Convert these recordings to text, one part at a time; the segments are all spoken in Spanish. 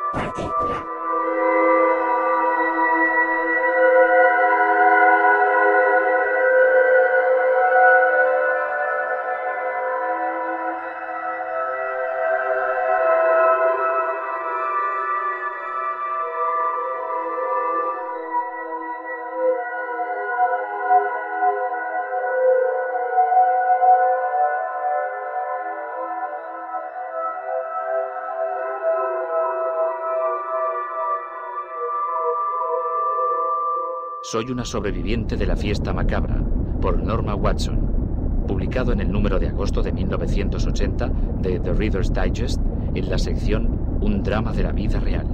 Partícula. Soy una sobreviviente de la fiesta macabra, por Norma Watson, publicado en el número de agosto de 1980 de The Reader's Digest en la sección Un drama de la vida real.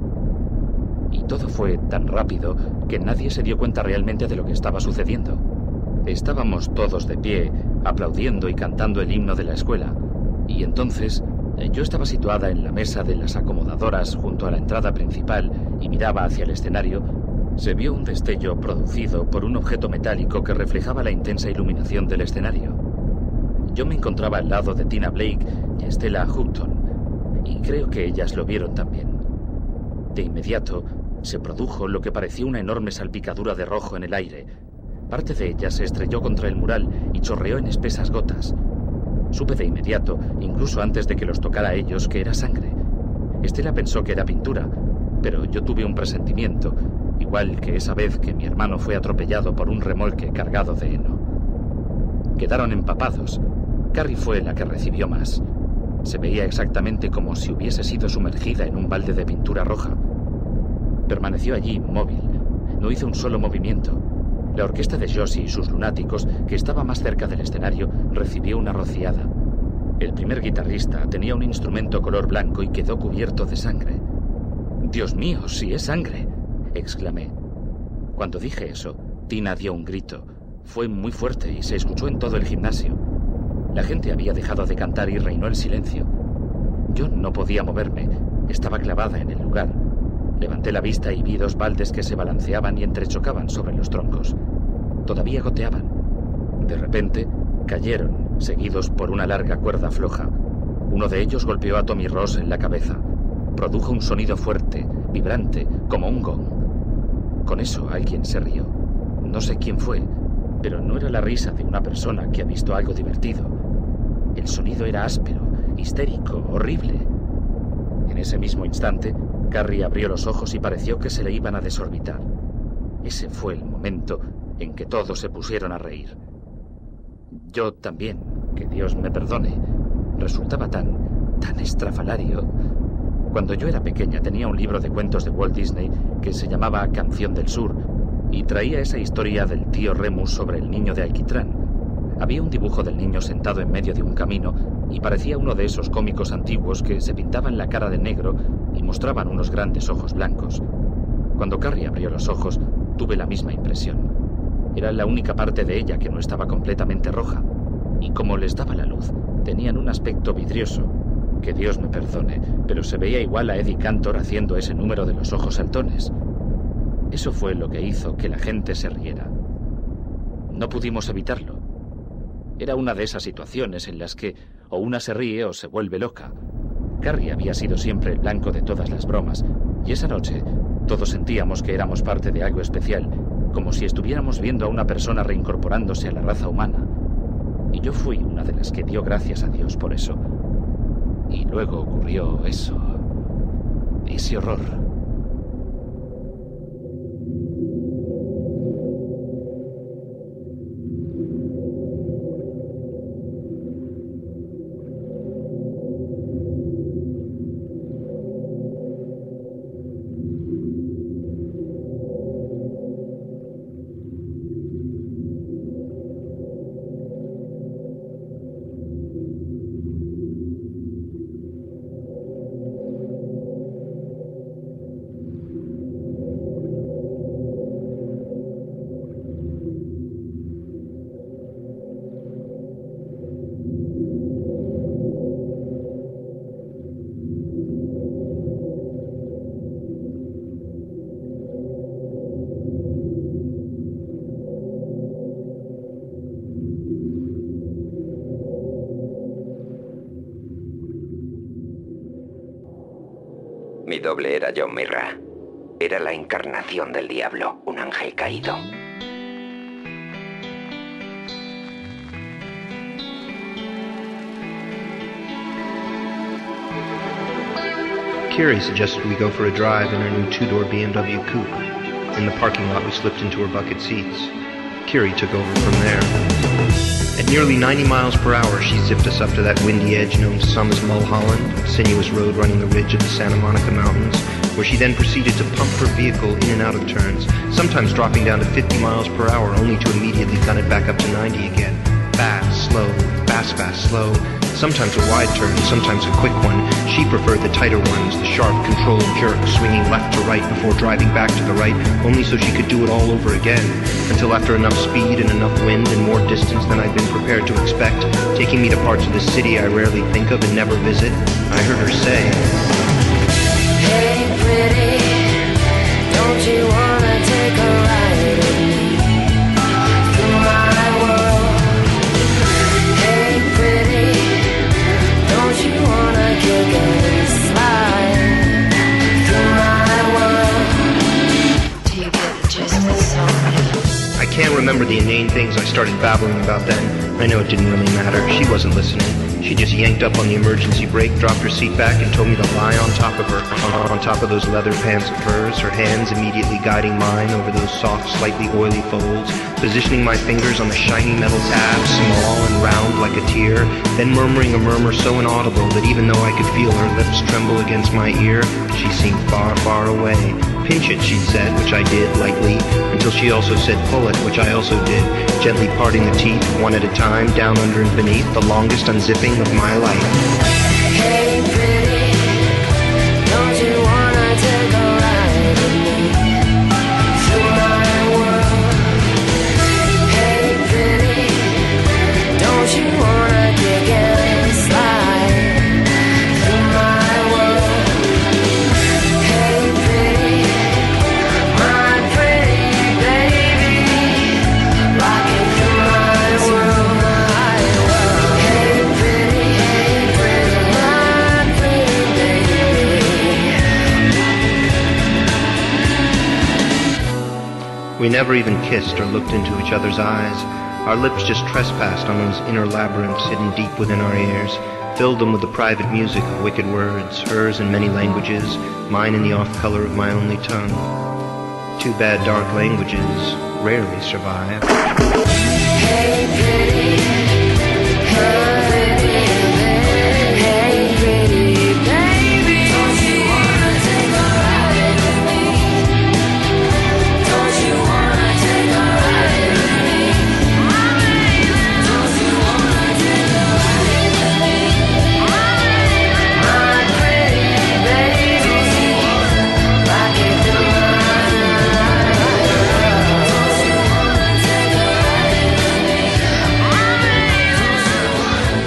Y todo fue tan rápido que nadie se dio cuenta realmente de lo que estaba sucediendo. Estábamos todos de pie, aplaudiendo y cantando el himno de la escuela, y entonces yo estaba situada en la mesa de las acomodadoras junto a la entrada principal y miraba hacia el escenario. Se vio un destello producido por un objeto metálico que reflejaba la intensa iluminación del escenario. Yo me encontraba al lado de Tina Blake y Stella Houghton, y creo que ellas lo vieron también. De inmediato se produjo lo que parecía una enorme salpicadura de rojo en el aire. Parte de ella se estrelló contra el mural y chorreó en espesas gotas. Supe de inmediato, incluso antes de que los tocara a ellos, que era sangre. Stella pensó que era pintura, pero yo tuve un presentimiento, igual que esa vez que mi hermano fue atropellado por un remolque cargado de heno. Quedaron empapados. Carrie fue la que recibió más. Se veía exactamente como si hubiese sido sumergida en un balde de pintura roja. Permaneció allí, inmóvil. No hizo un solo movimiento. La orquesta de Josie y sus lunáticos, que estaba más cerca del escenario, recibió una rociada. El primer guitarrista tenía un instrumento color blanco y quedó cubierto de sangre. «¡Dios mío, sí es sangre!», exclamé. Cuando dije eso, Tina dio un grito. Fue muy fuerte y se escuchó en todo el gimnasio. La gente había dejado de cantar y reinó el silencio. Yo no podía moverme. Estaba clavada en el lugar. Levanté la vista y vi dos baldes que se balanceaban y entrechocaban sobre los troncos. Todavía goteaban. De repente, cayeron, seguidos por una larga cuerda floja. Uno de ellos golpeó a Tommy Ross en la cabeza. Produjo un sonido fuerte, vibrante, como un gong. Con eso alguien se rió. No sé quién fue, pero no era la risa de una persona que ha visto algo divertido. El sonido era áspero, histérico, horrible. En ese mismo instante, Carrie abrió los ojos y pareció que se le iban a desorbitar. Ese fue el momento en que todos se pusieron a reír. Yo también, que Dios me perdone. Resultaba tan estrafalario. Cuando yo era pequeña tenía un libro de cuentos de Walt Disney que se llamaba Canción del Sur y traía esa historia del tío Remus sobre el niño de alquitrán. Había un dibujo del niño sentado en medio de un camino y parecía uno de esos cómicos antiguos que se pintaban la cara de negro y mostraban unos grandes ojos blancos. Cuando Carrie abrió los ojos, tuve la misma impresión. Era la única parte de ella que no estaba completamente roja, y como les daba la luz, tenían un aspecto vidrioso. Que Dios me perdone, pero se veía igual a Eddie Cantor haciendo ese número de los ojos saltones. Eso fue lo que hizo que la gente se riera. No pudimos evitarlo. Era una de esas situaciones en las que o una se ríe o se vuelve loca. Carrie había sido siempre el blanco de todas las bromas, y esa noche todos sentíamos que éramos parte de algo especial, como si estuviéramos viendo a una persona reincorporándose a la raza humana. Y yo fui una de las que dio gracias a Dios por eso. Y luego ocurrió eso. Ese horror. Mi doble era John Mirra. Era la encarnación del diablo, un ángel caído. Kiri suggested we go for a drive in her new two-door BMW coupe. In the parking lot, we slipped into her bucket seats. Kiri took over from there. At nearly 90 miles per hour, she zipped us up to that windy edge known to some as Mulholland, a sinuous road running the ridge of the Santa Monica Mountains, where she then proceeded to pump her vehicle in and out of turns, sometimes dropping down to 50 miles per hour, only to immediately gun it back up to 90 again. Fast, slow, fast, fast, slow. Sometimes a wide turn, sometimes a quick one. She preferred the tighter ones, the sharp, controlled jerk, swinging left to right before driving back to the right, only so she could do it all over again, until after enough speed and enough wind and more distance than I'd been prepared to expect, taking me to parts of the city I rarely think of and never visit, I heard her say, "Hey pretty, don't you wanna take a ride with me through my world? Hey pretty, don't you wanna kick and slide through my world?" Do you get the gist of the song? I can't remember the inane things I started babbling about then. I know it didn't really matter. She wasn't listening. She just yanked up on the emergency brake, dropped her seat back, and told me to lie on top of her, on top of those leather pants of hers, her hands immediately guiding mine over those soft, slightly oily folds, positioning my fingers on the shiny metal tabs, small and round like a tear, then murmuring a murmur so inaudible that even though I could feel her lips tremble against my ear, she seemed far, far away. Pinch it, she said, which I did, lightly, until she also said pull it, which I also did, gently parting the teeth, one at a time, down, under, and beneath, the longest unzipping of my life. Hey pretty, don't you wanna take a ride with me through my world? Hey pretty, don't you wanna kick and slide through my world? Hey pretty, my pretty baby, rocking through my world, my world. Hey pretty, my pretty baby. We never even kissed or looked into each other's eyes. Our lips just trespassed on those inner labyrinths hidden deep within our ears, filled them with the private music of wicked words, hers in many languages, mine in the off color of my only tongue. Too bad dark languages rarely survive. Hey pretty, hey pretty, hey pretty baby, don't you wanna take a ride with me? Don't you wanna take a ride with me? Don't you wanna take a ride with me? My pretty baby, rock it through my world. Don't you wanna take a ride with me?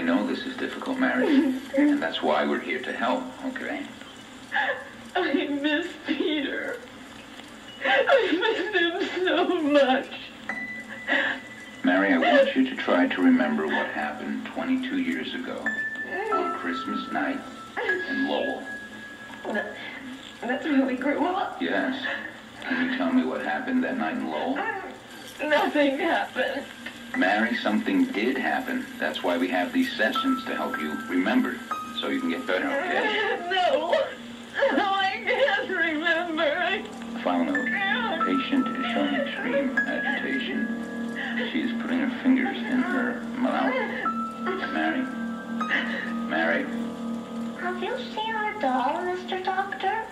I know this is difficult, Mary, and that's why we're here to help, okay? I miss Peter. I miss him so much. Mary, I want you to try to remember what happened 22 years ago on Christmas night in Lowell. That's where we grew up. Yes. Can you tell me what happened that night in Lowell? Nothing happened. Mary, something did happen. That's why we have these sessions to help you remember, so you can get better, okay? No, I can't remember. File note. Patient is showing extreme agitation. She is putting her fingers in her mouth. Mary? Mary? Have you seen our doll, Mr. Doctor?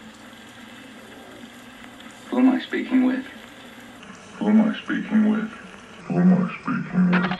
Who am I speaking with? Who am I speaking with? Who am I speaking with?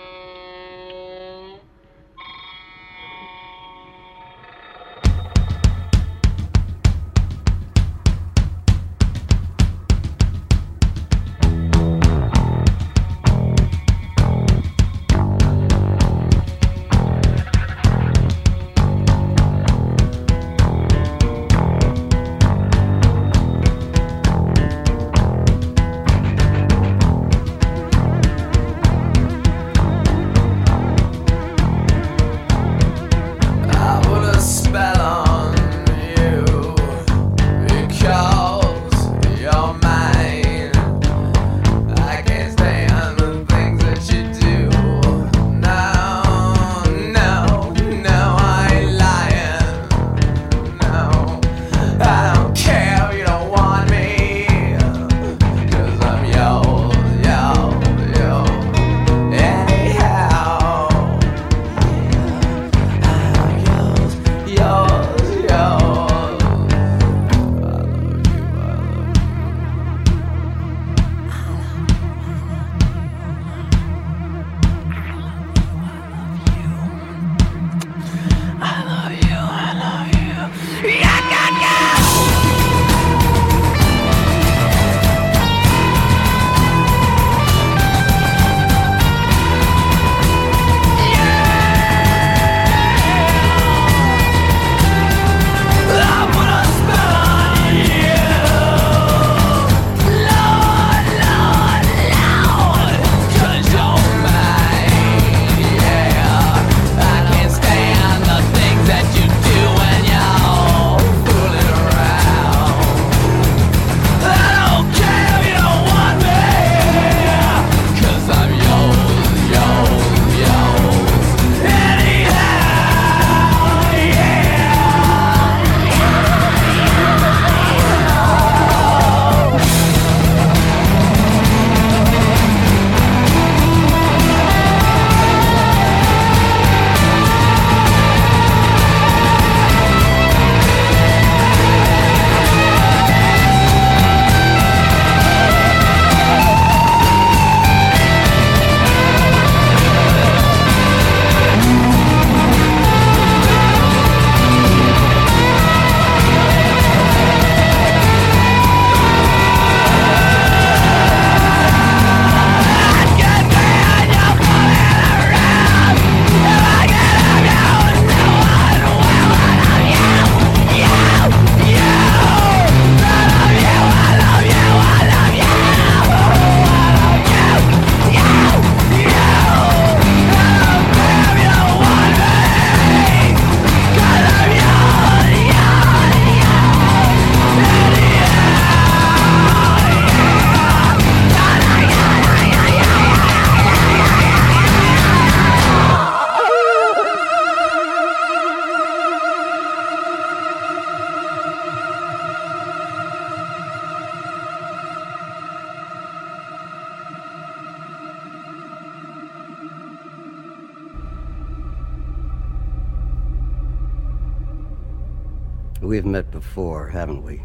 We've met before, haven't we?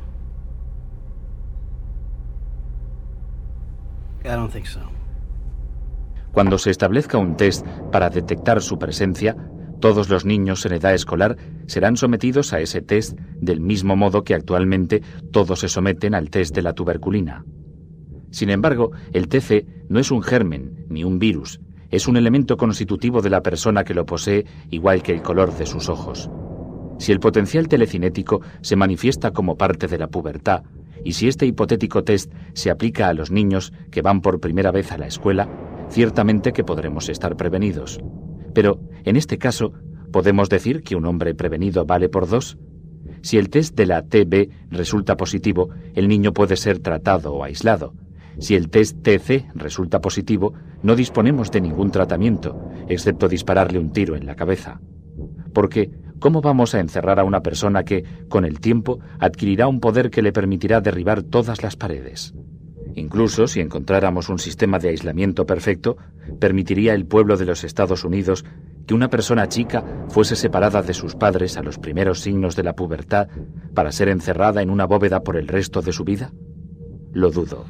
I don't think so. Cuando se establezca un test para detectar su presencia, todos los niños en edad escolar serán sometidos a ese test del mismo modo que actualmente todos se someten al test de la tuberculina. Sin embargo, el TC no es un germen ni un virus. es un elemento constitutivo de la persona que lo posee, igual que el color de sus ojos. Si el potencial telecinético se manifiesta como parte de la pubertad, y si este hipotético test se aplica a los niños que van por primera vez a la escuela, ciertamente que podremos estar prevenidos. Pero, en este caso, ¿podemos decir que un hombre prevenido vale por 2? Si el test de la TB resulta positivo, el niño puede ser tratado o aislado. Si el test TC resulta positivo, no disponemos de ningún tratamiento, excepto dispararle un tiro en la cabeza. Porque, ¿cómo vamos a encerrar a una persona que, con el tiempo, adquirirá un poder que le permitirá derribar todas las paredes? Incluso si encontráramos un sistema de aislamiento perfecto, permitiría el pueblo de los Estados Unidos que una persona chica fuese separada de sus padres a los primeros signos de la pubertad para ser encerrada en una bóveda por el resto de su vida? Lo dudo.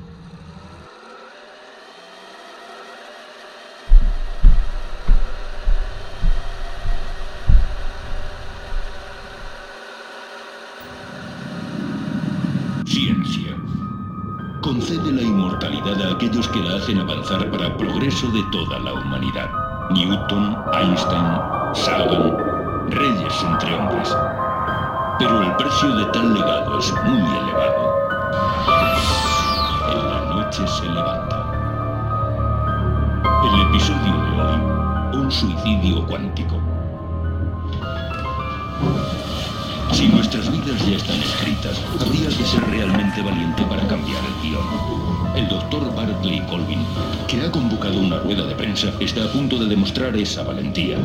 Ciencia. Concede la inmortalidad a aquellos que la hacen avanzar para progreso de toda la humanidad. Newton, Einstein, Sagan, reyes entre hombres. Pero el precio de tal legado es muy elevado. En la noche se levanta. El episodio de hoy, un suicidio cuántico. Si nuestras vidas ya están escritas, habría que ser realmente valiente para cambiar el guión. El doctor Barclay Colvin, que ha convocado una rueda de prensa, está a punto de demostrar esa valentía.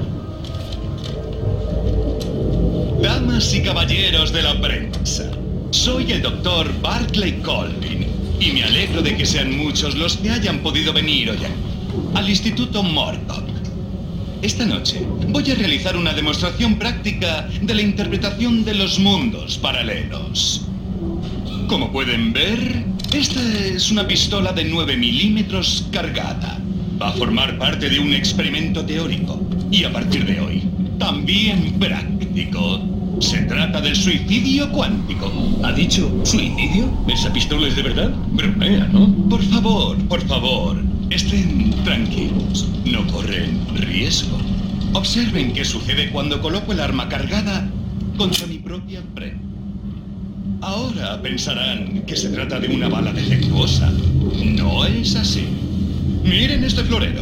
Damas y caballeros de la prensa, soy el doctor Barclay Colvin y me alegro de que sean muchos los que hayan podido venir hoy al Instituto Murdoch. Esta noche voy a realizar una demostración práctica de la interpretación de los mundos paralelos. Como pueden ver, esta es una pistola de 9 milímetros cargada. Va a formar parte de un experimento teórico y a partir de hoy, también práctico. Se trata del suicidio cuántico. ¿Ha dicho suicidio? ¿Esa pistola es de verdad? Bromea, ¿no? Por favor, estén tranquilos. No corren riesgo. Observen qué sucede cuando coloco el arma cargada contra mi propia frente. Ahora pensarán que se trata de una bala defectuosa. No es así. Miren este florero.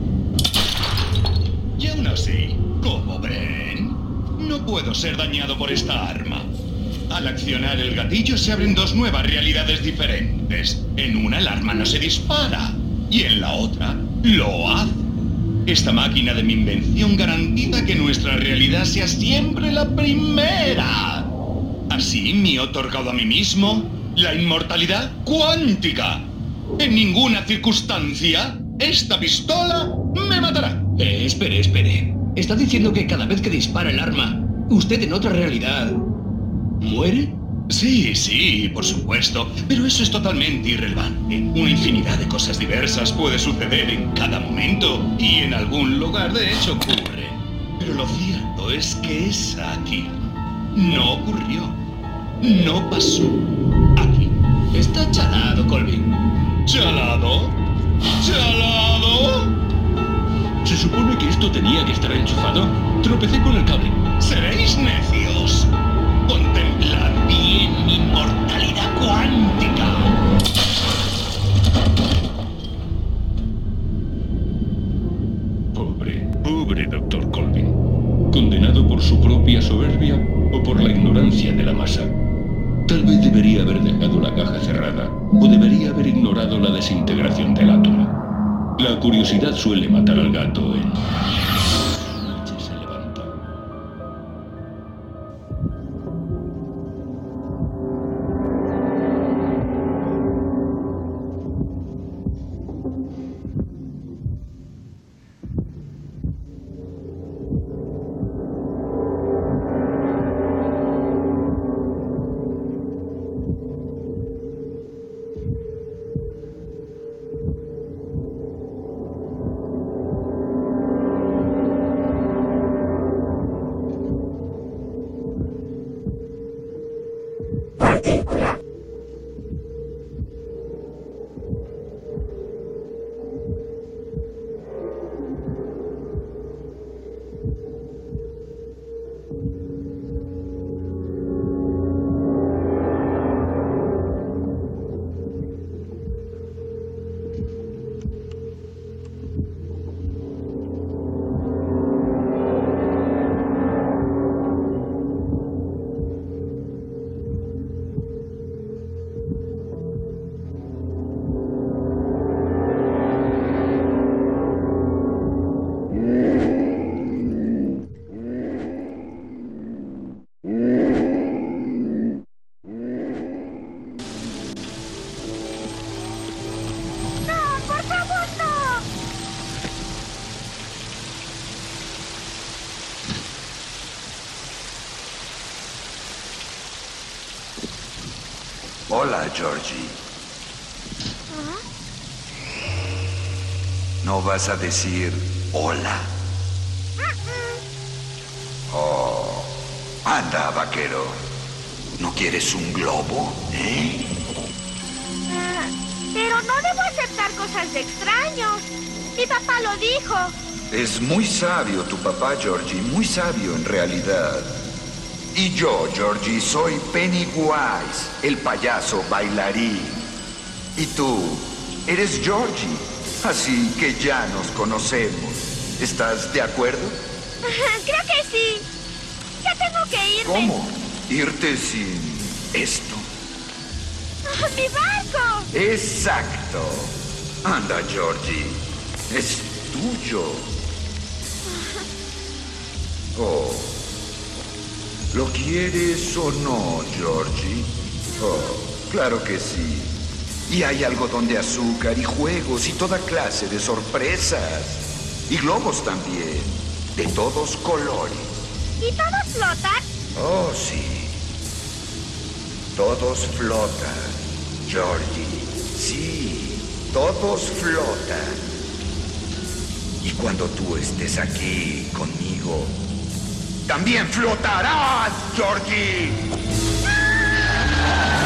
Y aún así, como ven, no puedo ser dañado por esta arma. Al accionar el gatillo se abren dos nuevas realidades diferentes. En una el arma no se dispara y en la otra lo hace. Esta máquina de mi invención garantiza que nuestra realidad sea siempre la primera. Así me he otorgado a mí mismo la inmortalidad cuántica. En ninguna circunstancia esta pistola me matará. Espere. ¿Está diciendo que cada vez que dispara el arma, usted en otra realidad muere? Sí, por supuesto. Pero eso es totalmente irrelevante. Una infinidad de cosas diversas puede suceder en cada momento y en algún lugar de hecho ocurre. Pero lo cierto es que esa aquí no ocurrió. No pasó. Aquí. Está chalado, Colvin. ¿Chalado? Se supone que esto tenía que estar enchufado. Tropecé con el cable. Seréis necios. Contemplad bien mi inmortalidad cuántica. Pobre doctor Colvin. Condenado por su propia soberbia o por la ignorancia de la masa. Tal vez debería haber dejado la caja cerrada o debería haber ignorado la desintegración del átomo. La curiosidad suele matar al gato en... La noche se levanta. Hola, Georgie. ¿No vas a decir hola? Oh, anda, vaquero. ¿No quieres un globo, eh? Pero no debo aceptar cosas de extraños. Mi papá lo dijo. Es muy sabio tu papá, Georgie, muy sabio en realidad. Y yo, Georgie, soy Pennywise, el payaso bailarín. Y tú, eres Georgie, así que ya nos conocemos. ¿Estás de acuerdo? Creo que sí. Ya tengo que irme. ¿Cómo? ¿Irte sin esto? ¡Mi barco! Exacto. Anda, Georgie. Es tuyo. Oh. ¿Lo quieres o no, Georgie? Oh, claro que sí. Y hay algodón de azúcar y juegos y toda clase de sorpresas. Y globos también. De todos colores. ¿Y todos flotan? Oh, sí. Todos flotan, Georgie. Sí, todos flotan. Y cuando tú estés aquí conmigo, también flotarás, Georgie. ¡Ah!